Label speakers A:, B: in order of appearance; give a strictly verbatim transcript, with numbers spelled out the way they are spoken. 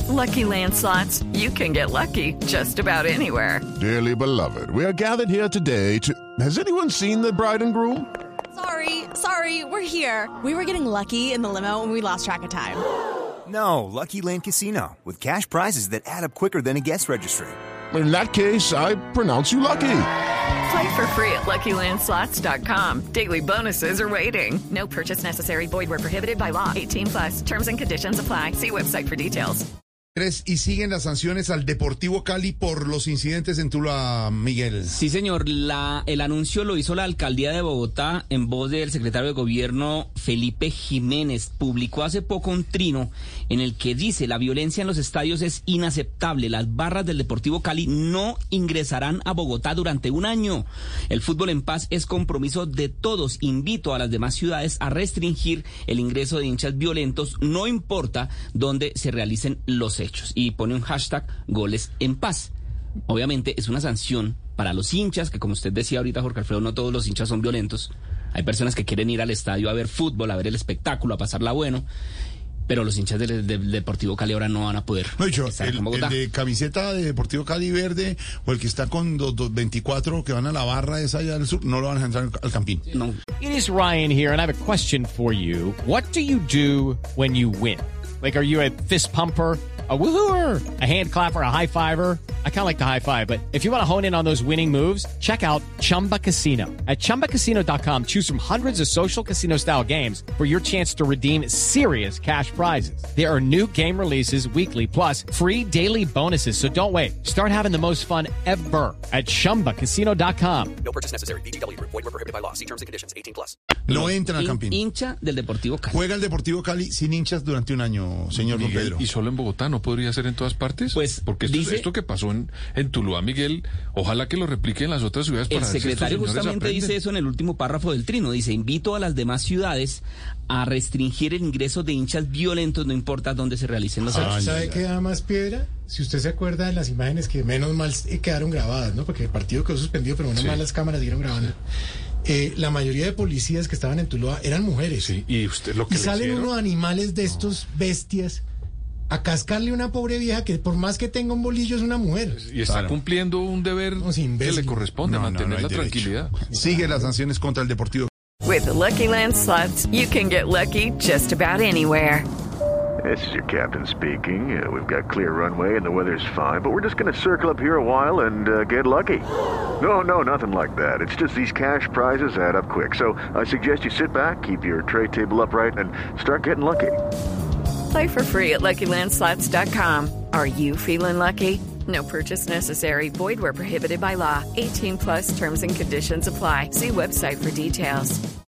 A: Lucky Land Slots, you can get lucky just about anywhere.
B: Dearly beloved, we are gathered here today to... Has anyone seen the bride and groom?
C: Sorry, sorry, we're here. We were getting lucky in the limo and we lost track of time.
D: No, Lucky Land Casino, with cash prizes that add up quicker than a guest registry.
B: In that case, I pronounce you lucky.
A: Play for free at Lucky Land Slots dot com. Daily bonuses are waiting. No purchase necessary. Void where prohibited by law. eighteen plus. Terms and conditions apply. See website for details.
E: Y siguen las sanciones al Deportivo Cali por los incidentes en Tuluá, Miguel.
F: Sí, señor. La, el anuncio lo hizo la Alcaldía de Bogotá en voz del secretario de Gobierno Felipe Jiménez. Publicó hace poco un trino en el que dice: la violencia en los estadios es inaceptable. Las barras del Deportivo Cali no ingresarán a Bogotá durante un año. El fútbol en paz es compromiso de todos. Invito a las demás ciudades a restringir el ingreso de hinchas violentos, no importa dónde se realicen los hechos. Y pone un hashtag goles en paz. Obviamente es una sanción para los hinchas, que como usted decía ahorita, Jorge Alfredo, no todos los hinchas son violentos. Hay personas que quieren ir al estadio a ver fútbol, a ver el espectáculo, a pasarla bueno, pero los hinchas del, del Deportivo Cali ahora no van a poder.
E: No, yo,
F: estar
E: el,
F: en Bogotá.
E: el de camiseta de Deportivo Cali verde o el que está con dos, dos, veinticuatro que van a la barra esa allá del sur, no lo van a entrar al campín.
F: No.
G: It is Ryan here, and I have a question for you. What do you do when you win? Like, are you a fist pumper, a woohooer, a hand clapper, a high fiver? I kind of like the high five, but if you want to hone in on those winning moves, check out Chumba Casino. At chumba casino dot com, choose from hundreds of social casino style games for your chance to redeem serious cash prizes. There are new game releases weekly, plus free daily bonuses. So don't wait. Start having the most fun ever at chumba casino dot com.
H: No purchase necessary. V G W. Void where prohibited by law. See terms and conditions. eighteen plus.
E: No entran al
F: Hin-
E: campín.
F: Hincha del Deportivo Cali.
E: Juega el Deportivo Cali sin hinchas durante un año, señor Don
I: Miguel,
E: Pedro.
I: ¿y solo en Bogotá no podría ser en todas partes?
F: Pues,
I: porque esto,
F: dice-
I: esto que pasó en, en Tuluá, Miguel, ojalá que lo repliquen en las otras ciudades para
F: El
I: ver si estos
F: secretario
I: señores
F: justamente
I: aprenden.
F: dice eso en el último párrafo del trino. Dice: invito a las demás ciudades a restringir el ingreso de hinchas violentos, no importa dónde se realicen los hechos.
E: Ay,
J: ¿Sabe
E: ay,
J: qué da más piedra? Si usted se acuerda de las imágenes que menos mal quedaron grabadas, ¿no? Porque el partido quedó suspendido, pero unas
I: Sí.
J: malas cámaras siguieron grabando. Eh, la mayoría de policías que estaban en Tuluá eran mujeres.
I: Sí, y usted lo que
J: Y
I: le
J: salen
I: hicieron,
J: unos animales de estos bestias a cascarle a una pobre vieja que por más que tenga un bolillo es una mujer.
I: y está
E: Claro.
I: cumpliendo un deber
J: No, sí,
I: que
J: imbécil.
I: le corresponde,
E: No, no,
I: mantener
E: no hay
I: la
E: derecho.
I: tranquilidad.
E: Sigue las sanciones contra el Deportivo.
A: With the Lucky Land Slots, you can get lucky just about anywhere.
K: This is your captain speaking. Uh, we've got clear runway and the weather's fine, but we're just going to circle up here a while and uh, get lucky. No, no, nothing like that. It's just these cash prizes add up quick. So I suggest you sit back, keep your tray table upright, and start getting lucky.
A: Play for free at Lucky Land Slots dot com. Are you feeling lucky? No purchase necessary. Void where prohibited by law. eighteen plus terms and conditions apply. See website for details.